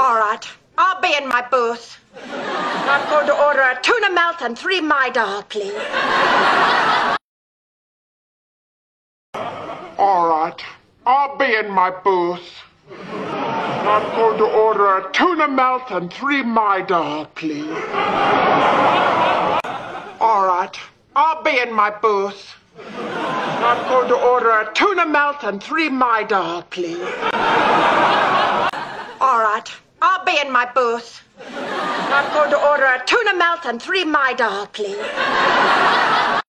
All right, I'll be in my booth. I'm going to order a tuna melt and 3 Midol, please. All right, I'll be in my booth. I'm going to order a tuna melt and 3 Midol, please. All right, I'll be in my booth. I'm going to order a tuna melt and 3 Midol, please. All right, I'll be in my booth. I'm going to order a tuna melt and 3 Midol, please.